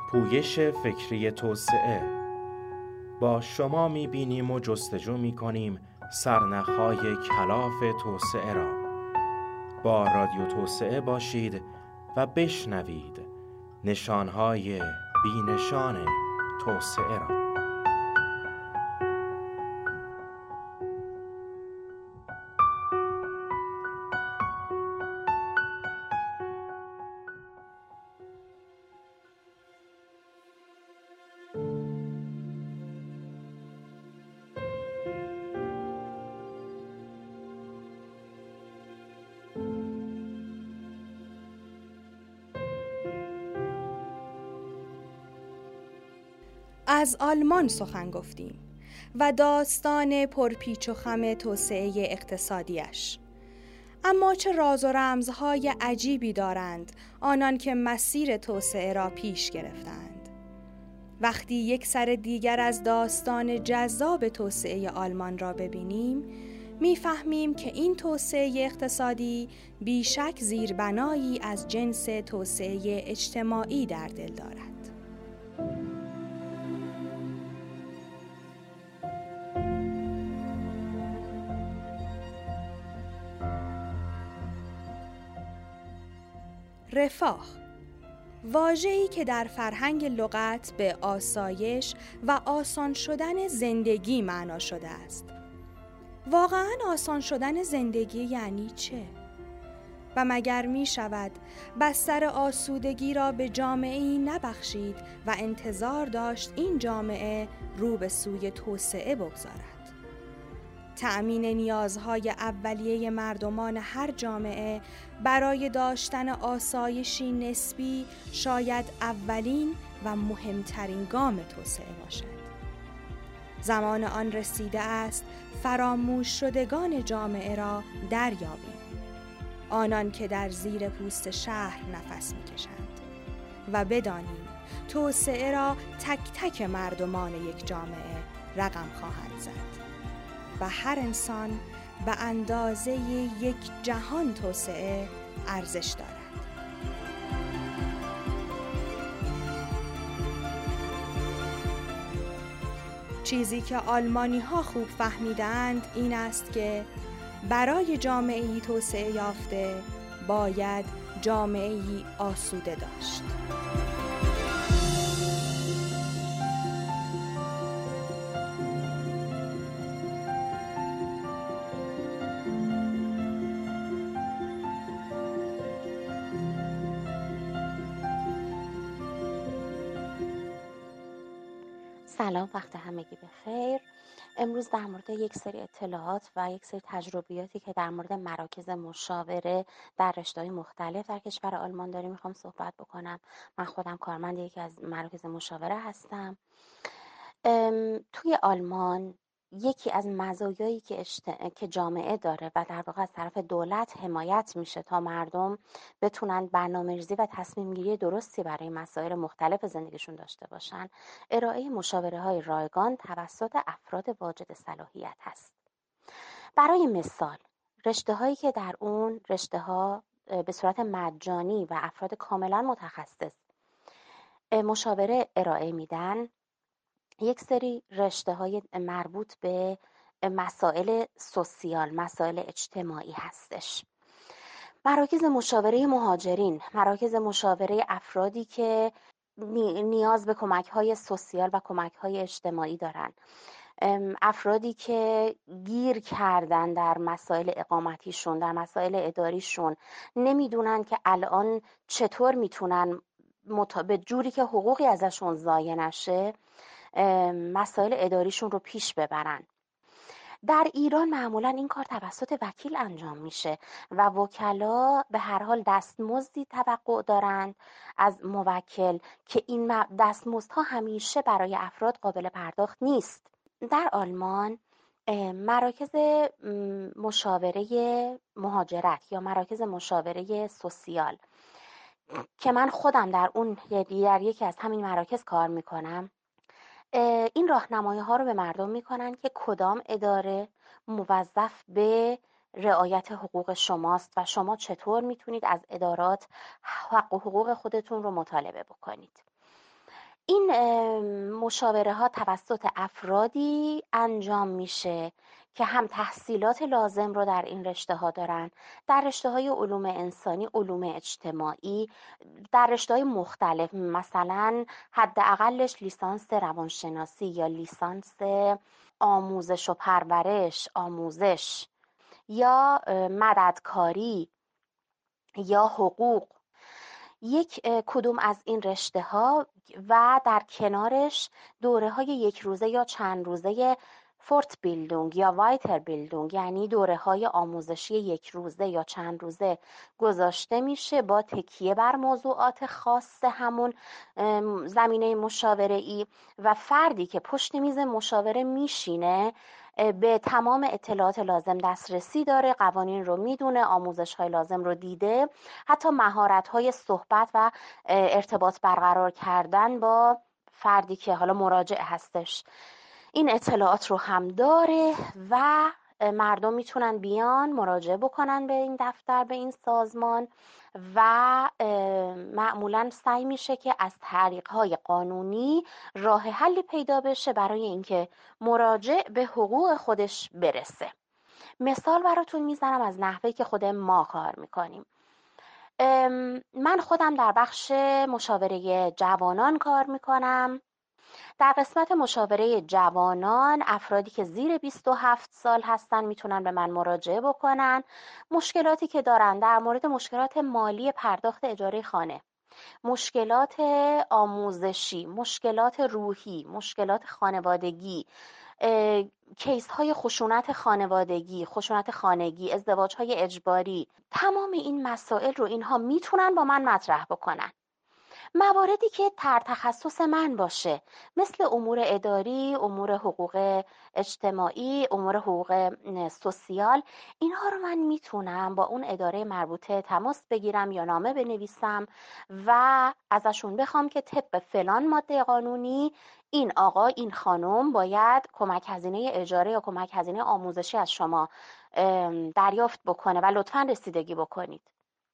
پویش فکری توسعه. با شما می‌بینیم و جستجو می‌کنیم سرنخ‌های کلاف توسعه را. با رادیو توسعه باشید و بشنوید نشان‌های بی‌نشان توسعه را. از آلمان سخن گفتیم و داستان پرپیچ و خم توسعه اقتصادیش. اما چه راز و رمزهای عجیبی دارند آنان که مسیر توسعه را پیش گرفتند. وقتی یک سر دیگر از داستان جذاب توسعه آلمان را ببینیم، می‌فهمیم که این توسعه اقتصادی بیشک زیربنایی از جنس توسعه اجتماعی در دل دارد. رفاه، واژه‌ای که در فرهنگ لغت به آسایش و آسان شدن زندگی معنا شده است. واقعاً آسان شدن زندگی یعنی چه؟ و مگر می شود بستر آسودگی را به جامعه‌ای نبخشید و انتظار داشت این جامعه رو به سوی توسعه بگذارد؟ تأمین نیازهای اولیه مردمان هر جامعه برای داشتن آسایشی نسبی شاید اولین و مهمترین گام توسعه باشد. زمان آن رسیده است فراموش شدگان جامعه را دریابیم، آنان که در زیر پوست شهر نفس می‌کشند، و بدانیم توسعه را تک تک مردمان یک جامعه رقم خواهد زد و هر انسان به اندازه یک جهان توسعه ارزش دارد. چیزی که آلمانی‌ها خوب فهمیدند این است که برای جامعه‌ای توسعه یافته باید جامعه‌ای آسوده داشت. سلام، وقت همگی بخیر. امروز در مورد یک سری اطلاعات و یک سری تجربیاتی که در مورد مراکز مشاوره در رشته‌های مختلف در کشور آلمان داریم میخوام صحبت بکنم. من خودم کارمند یکی از مراکز مشاوره هستم. توی آلمان یکی از مزایایی که جامعه داره و در واقع از طرف دولت حمایت میشه تا مردم بتونن برنامه‌ریزی و تصمیم گیری درستی برای مسائل مختلف زندگیشون داشته باشن، ارائه مشاوره‌های رایگان توسط افراد واجد صلاحیت هست. برای مثال، رشته‌هایی که در اون رشته‌ها به صورت مجانی و افراد کاملا متخصص مشاوره ارائه میدن، یک سری رشته‌های مربوط به مسائل سوسیال، مسائل اجتماعی هستش. مراکز مشاوره مهاجرین، مراکز مشاوره افرادی که نیاز به کمک‌های سوسیال و کمک‌های اجتماعی دارن، افرادی که گیر کردن در مسائل اقامتیشون، در مسائل اداریشون، نمیدونن که الان چطور میتونن به جوری که حقوقی ازشون ضایع نشه مسائل اداریشون رو پیش ببرن. در ایران معمولا این کار توسط وکیل انجام میشه و وکلا به هر حال دستمزدی توقع دارند از موکل که این دستمزدها همیشه برای افراد قابل پرداخت نیست. در آلمان مراکز مشاوره مهاجرت یا مراکز مشاوره سوسیال که من خودم در یکی از همین مراکز کار میکنم، این راهنمایی‌ها رو به مردم میکنن که کدام اداره موظف به رعایت حقوق شماست و شما چطور میتونید از ادارات حق و حقوق خودتون رو مطالبه بکنید. این مشاوره ها توسط افرادی انجام میشه که هم تحصیلات لازم رو در این رشته ها دارن، در رشته های علوم انسانی، علوم اجتماعی، در رشته های مختلف، مثلا حداقلش لیسانس روانشناسی یا لیسانس آموزش و پرورش، آموزش یا مددکاری یا حقوق، یک کدوم از این رشته ها و در کنارش دوره های یک روزه یا چند روزه فورت بیلدونگ یا وایتر بیلدونگ، یعنی دوره های آموزشی یک روزه یا چند روزه گذاشته میشه با تکیه بر موضوعات خاص همون زمینه مشاوره ای و فردی که پشت میز مشاوره میشینه به تمام اطلاعات لازم دسترسی داره، قوانین رو میدونه، آموزش های لازم رو دیده، حتی مهارت های صحبت و ارتباط برقرار کردن با فردی که حالا مراجع هستش این اطلاعات رو هم داره و مردم میتونن بیان مراجعه بکنن به این دفتر، به این سازمان و معمولا سعی میشه که از طریق‌های قانونی راه حلی پیدا بشه برای اینکه مراجع به حقوق خودش برسه. مثال براتون میزنم از نحوهی که خود ما کار میکنیم. من خودم در بخش مشاوره جوانان کار میکنم. در قسمت مشاوره جوانان افرادی که زیر 27 سال هستن میتونن به من مراجعه بکنن. مشکلاتی که دارن در مورد مشکلات مالی پرداخت اجاره خانه، مشکلات آموزشی، مشکلات روحی، مشکلات خانوادگی، کیس های خشونت خانوادگی، خشونت خانگی، ازدواج های اجباری، تمام این مسائل رو اینها میتونن با من مطرح بکنن. مواردی که تر تخصص من باشه مثل امور اداری، امور حقوق اجتماعی، امور حقوق سوسیال، اینها رو من میتونم با اون اداره مربوطه تماس بگیرم یا نامه بنویسم و ازشون بخوام که طبق فلان ماده قانونی این آقا، این خانم باید کمک هزینه اجاره یا کمک هزینه آموزشی از شما دریافت بکنه و لطفاً رسیدگی بکنید.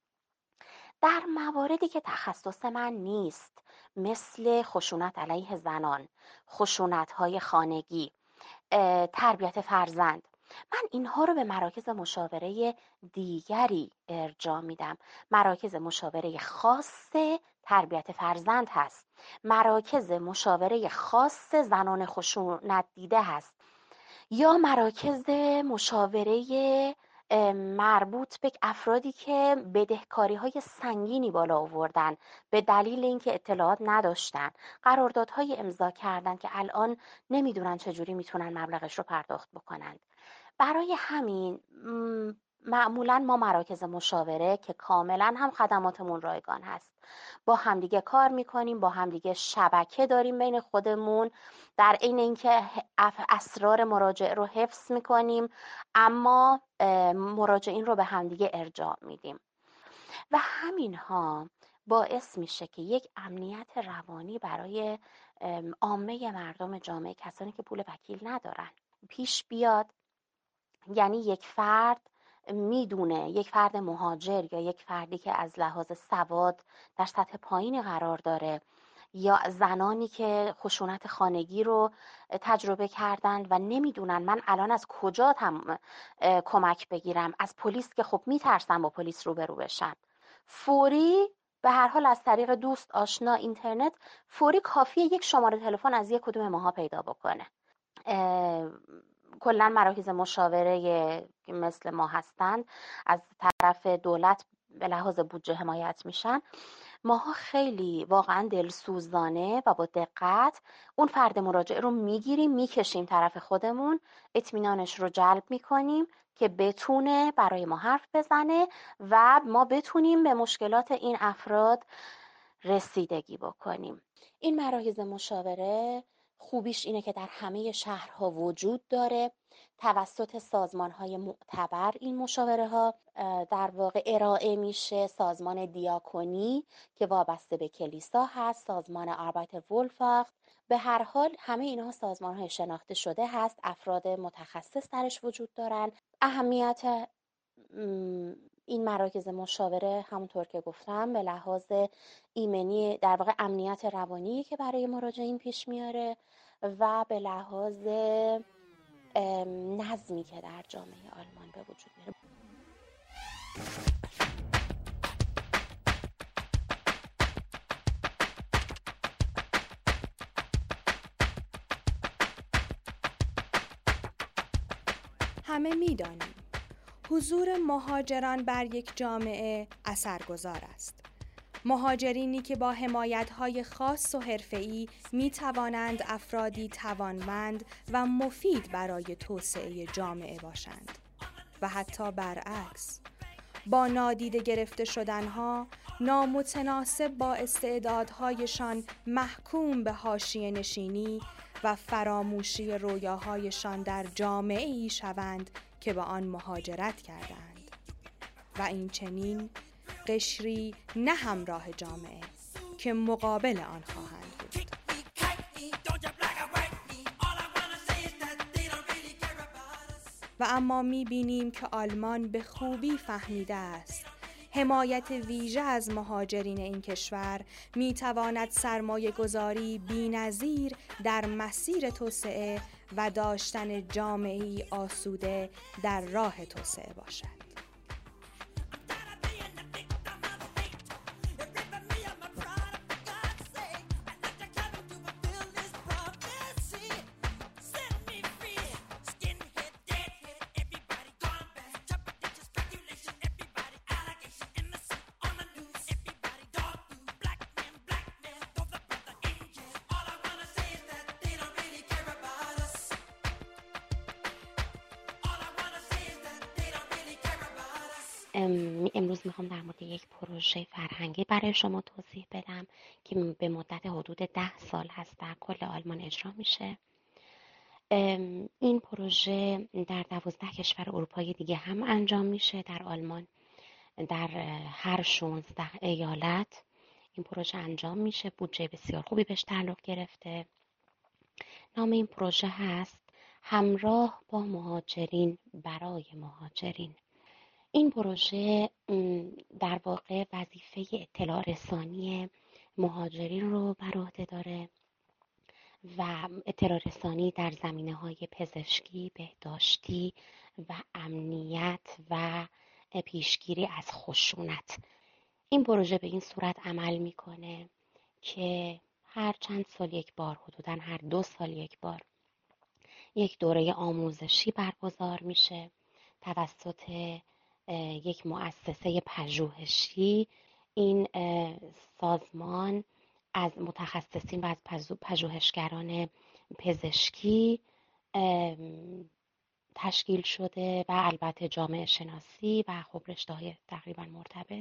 در مواردی که تخصص من نیست مثل خشونت علیه زنان، خشونت‌های خانگی، تربیت فرزند، من اینها رو به مراکز مشاوره دیگری ارجاع میدم. مراکز مشاوره خاص تربیت فرزند هست، مراکز مشاوره خاص زنان خشونت دیده هست یا مراکز مشاوره مربوط به افرادی که بدهکاری‌های سنگینی بالا آوردن به دلیل اینکه اطلاعات نداشتن، قراردادهای امضا کردن که الان نمیدونن چجوری میتونن مبلغش رو پرداخت بکنند. برای همین معمولا ما مراکز مشاوره که کاملا هم خدماتمون رایگان هست با همدیگه کار میکنیم، با همدیگه شبکه داریم بین خودمون، در عین اینکه اسرار مراجع رو حفظ میکنیم اما مراجعین رو به همدیگه ارجاع میدیم و همین ها باعث میشه که یک امنیت روانی برای عامه مردم جامعه، کسانی که پول وکیل ندارن، پیش بیاد. یعنی یک فرد میدونه، یک فرد مهاجر یا یک فردی که از لحاظ سواد در سطح پایینی قرار داره یا زنانی که خشونت خانگی رو تجربه کردند و نمیدونن من الان از کجا کمک بگیرم، از پلیس که خب میترسن با پلیس روبرو بشن، فوری به هر حال از طریق دوست، آشنا، اینترنت فوری کافیه یک شماره تلفن از یک کدوم ماها پیدا بکنه. کلا مراکز مشاوره مثل ما هستند از طرف دولت به لحاظ بودجه حمایت میشن. ماها خیلی واقعا دلسوزانه و با دقت اون فرد مراجع رو میگیریم، میکشیم طرف خودمون، اطمینانش رو جلب میکنیم که بتونه برای ما حرف بزنه و ما بتونیم به مشکلات این افراد رسیدگی بکنیم. این مراکز مشاوره خوبیش اینه که در همه شهرها وجود داره. توسط سازمان‌های معتبر این مشاوره ها در واقع ارائه میشه. سازمان دیاکونی که وابسته به کلیسا هست، سازمان آربایتر وولفاخت، به هر حال همه اینها سازمان‌های شناخته شده هست، افراد متخصص درش وجود دارن. اهمیت این مراکز مشاوره همونطور که گفتم به لحاظ ایمنی، در واقع امنیت روانی که برای مراجعین پیش میاره و به لحاظ نظمی که در جامعه آلمان به وجود میاره. همه می‌دانیم حضور مهاجران بر یک جامعه اثرگذار است. مهاجرینی که با حمایت‌های خاص و حرفه‌ای می‌توانند افرادی توانمند و مفید برای توسعه جامعه باشند و حتی برعکس، با نادیده گرفته شدنها، نامتناسب با استعدادهایشان محکوم به حاشیه نشینی و فراموشی رویاهایشان در جامعه‌ای شوند که به آن مهاجرت کردند و این چنین قشری نه همراه جامعه که مقابل آن خواهند بود. و اما می‌بینیم که آلمان به خوبی فهمیده است حمایت ویژه از مهاجرین این کشور می‌تواند سرمایه‌گذاری بی‌نظیر در مسیر توسعه و داشتن جامعه‌ای آسوده در راه توسعه باشد. امروز میخوام در مورد یک پروژه فرهنگی برای شما توضیح بدم که به مدت حدود 10 سال هست در کل آلمان اجرا میشه. این پروژه در 12 کشور اروپایی دیگه هم انجام میشه. در آلمان در هر 16 ایالت این پروژه انجام میشه. بودجه بسیار خوبی بهش تعلق گرفته. نام این پروژه هست همراه با مهاجرین برای مهاجرین. این پروژه در واقع وظیفه اطلاع رسانی مهاجرین رو بر عهده داره و اطلاع رسانی در زمینه‌های پزشکی، بهداشتی و امنیت و پیشگیری از خشونت. این پروژه به این صورت عمل میکنه که هر چند سال یک بار، حدوداً هر 2 سال یک بار، یک دوره آموزشی برگزار میشه توسط یک مؤسسه پژوهشی. این سازمان از متخصصین و از پژوهشگران پزشکی تشکیل شده و البته جامعه شناسی و خب رشته‌های تقریبا مرتبط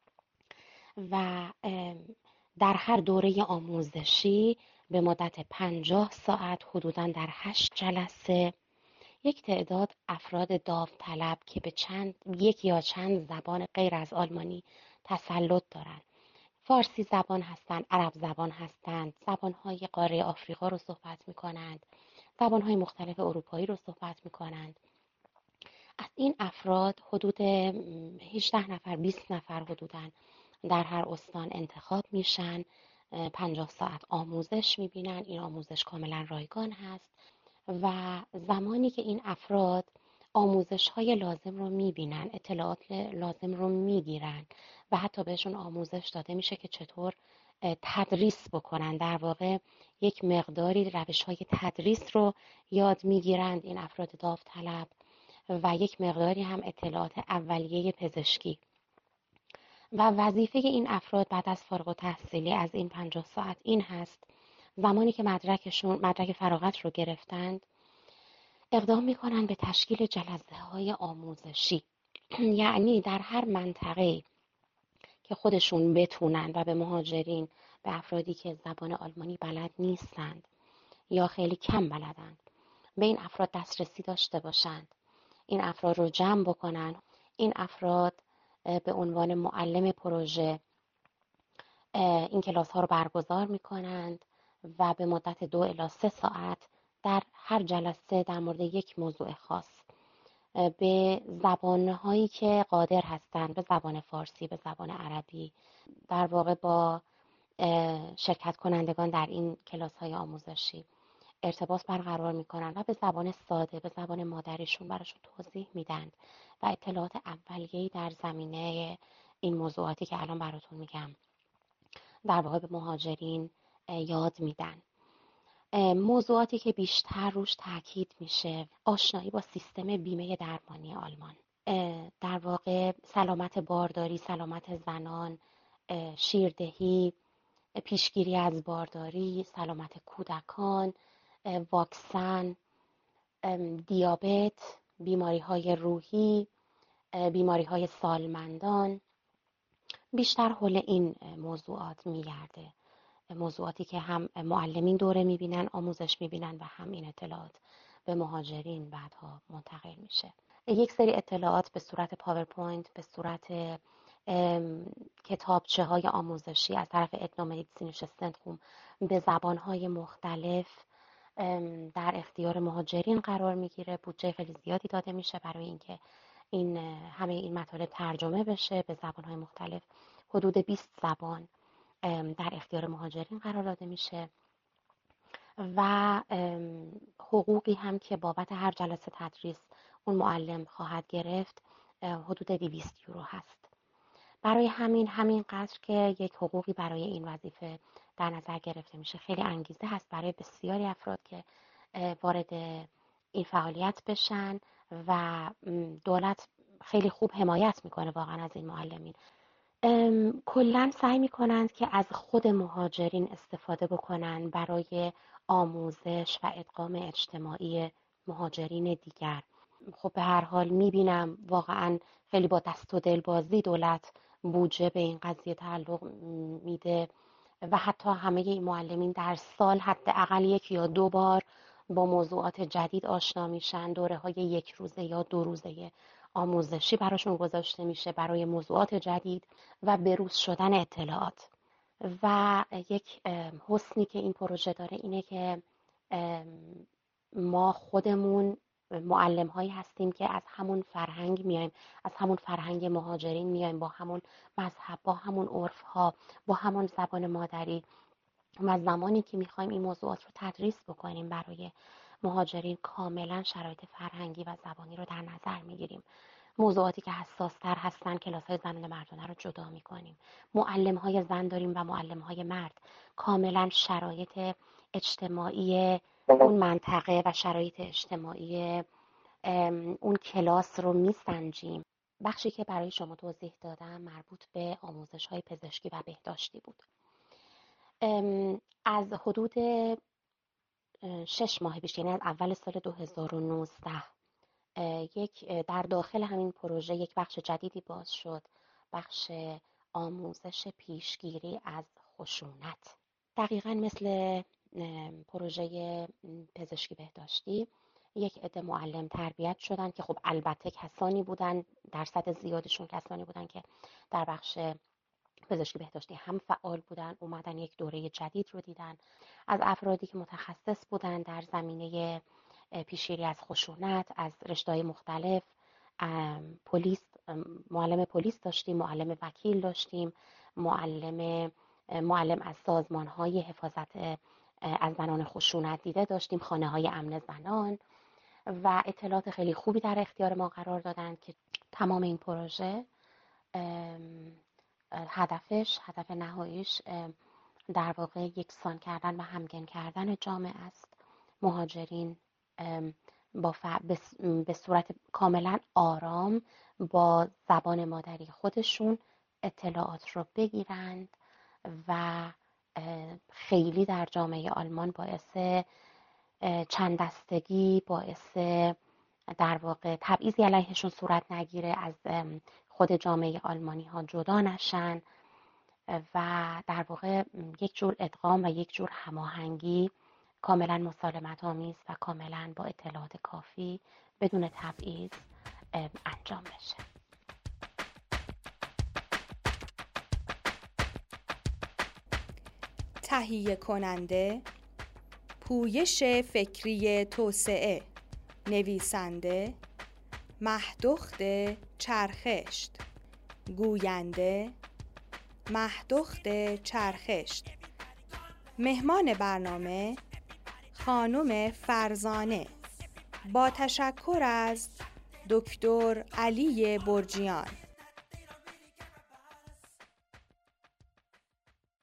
و در هر دوره آموزشی به مدت 50 ساعت حدوداً در 8 جلسه یک تعداد افراد داوطلب که به یک یا چند زبان غیر از آلمانی تسلط دارند، فارسی زبان هستند، عرب زبان هستند، زبان‌های قاره آفریقا رو صحبت می‌کنند، زبان‌های مختلف اروپایی رو صحبت می‌کنند. از این افراد حدود 18 نفر 20 نفر حدوداً در هر استان انتخاب میشن. 50 ساعت آموزش می‌بینن. این آموزش کاملا رایگان هست و زمانی که این افراد آموزش‌های لازم رو می‌بینن، اطلاعات لازم رو می‌گیرن و حتی بهشون آموزش داده میشه که چطور تدریس بکنن، در واقع یک مقداری روش‌های تدریس رو یاد می‌گیرند این افراد داوطلب و یک مقداری هم اطلاعات اولیه پزشکی. و وظیفه این افراد بعد از فارغ التحصیلی از این 50 ساعت این هست زمانی که مدرک فراغت رو گرفتند اقدام میکنن به تشکیل جلسه‌های آموزشی. یعنی در هر منطقه که خودشون بتونن و به مهاجرین، به افرادی که زبان آلمانی بلد نیستند یا خیلی کم بلدند، به این افراد دسترسی داشته باشند، این افراد رو جمع بکنن. این افراد به عنوان معلم پروژه این کلاس ها رو برگزار میکنند و به مدت 2 الی 3 ساعت در هر جلسه در مورد یک موضوع خاص به زبانهایی که قادر هستند، به زبان فارسی، به زبان عربی، در واقع با شرکت کنندگان در این کلاس‌های آموزشی ارتباط برقرار میکنن و به زبان ساده، به زبان مادریشون براشون توضیح میدن و اطلاعات اولیه‌ای در زمینه این موضوعاتی که الان براتون میگم در واقع به مهاجرین یاد میدن. موضوعاتی که بیشتر روش تاکید میشه، آشنایی با سیستم بیمه درمانی آلمان، در واقع سلامت بارداری، سلامت زنان، شیردهی، پیشگیری از بارداری، سلامت کودکان، واکسن، دیابت، بیماری‌های روحی، بیماری‌های سالمندان، بیشتر حول این موضوعات میگرده. موضوعاتی که هم معلمین دوره میبینن، آموزش میبینن و هم این اطلاعات به مهاجرین بعدها منتقل میشه. یک سری اطلاعات به صورت پاورپوینت، به صورت کتابچه های آموزشی از طرف ادنومدیسین شستندخوم به زبانهای مختلف در اختیار مهاجرین قرار میگیره. بودجه خیلی زیادی داده میشه برای اینکه همه این مطالب ترجمه بشه به زبانهای مختلف. حدود 20 زبان در اختیار مهاجرین قرار داده میشه و حقوقی هم که بابت هر جلسه تدریس اون معلم خواهد گرفت حدود 200 یورو هست. برای همین قدر که یک حقوقی برای این وظیفه در نظر گرفته میشه، خیلی انگیزه هست برای بسیاری افراد که وارد این فعالیت بشن و دولت خیلی خوب حمایت میکنه واقعا از این معلمین. کلاً سعی میکنند که از خود مهاجرین استفاده بکنن برای آموزش و ادغام اجتماعی مهاجرین دیگر. خب به هر حال میبینم واقعاً خیلی با دست و دل بازی دولت بودجه به این قضیه تعلق میده و حتی همه این معلمین در سال حداقل 1 یا 2 بار با موضوعات جدید آشنا میشن. دوره‌های 1 روزه یا 2 روزه آموزشی براشون گذاشته میشه برای موضوعات جدید و بروز شدن اطلاعات. و یک حسنی که این پروژه داره اینه که ما خودمون معلم هایی هستیم که از همون فرهنگ میایم، از همون فرهنگ مهاجرین میایم، با همون مذهب، با همون عرف ها، با همون زبان مادری و زمانی که میخوایم این موضوعات رو تدریس بکنیم برای مهاجرین کاملا شرایط فرهنگی و زبانی رو در نظر میگیریم. موضوعاتی که حساستر هستن کلاس‌های زنان مردانه رو جدا میکنیم. معلم‌های زن داریم و معلم‌های مرد. کاملا شرایط اجتماعی اون منطقه و شرایط اجتماعی اون کلاس رو میسنجیم. بخشی که برای شما توضیح دادم مربوط به آموزش‌های پزشکی و بهداشتی بود. از حدود 6 ماه پیش، یعنی از اول سال 2019 در داخل همین پروژه یک بخش جدیدی باز شد، بخش آموزش پیشگیری از خشونت. دقیقاً مثل پروژه پزشکی بهداشتی یک عده معلم تربیت شدن که خب البته کسانی بودن، درصد زیادشون کسانی بودن که در بخش پزشکی بهداشتی هم فعال بودن، اومدن یک دوره جدید رو دیدن از افرادی که متخصص بودن در زمینه پیشگیری از خشونت از رشته‌های مختلف. پلیس، معلم پلیس داشتیم، معلم وکیل داشتیم، معلم از سازمان‌های حفاظت از زنان خشونت دیده داشتیم، خانه‌های امن زنان و اطلاعات خیلی خوبی در اختیار ما قرار دادن که تمام این پروژه هدف نهاییش در واقع یکسان کردن و همگن کردن جامعه است. مهاجرین به صورت کاملا آرام با زبان مادری خودشون اطلاعات رو بگیرند و خیلی در جامعه آلمان باعث چند دستگی، باعث در واقع تبعیضی علیهشون صورت نگیره، از خود جامعه آلمانی ها جدا نشن و در واقع یک جور ادغام و یک جور هماهنگی کاملا مسالمت آمیز و کاملا با اطلاعات کافی بدون تبعیض انجام بشه. تهیه کننده پویش فکری توسعه، نویسنده مهدخت چرخشت. گوینده مهدخت چرخشت. مهمان برنامه خانم فرزانه. با تشکر از دکتر علی برجیان.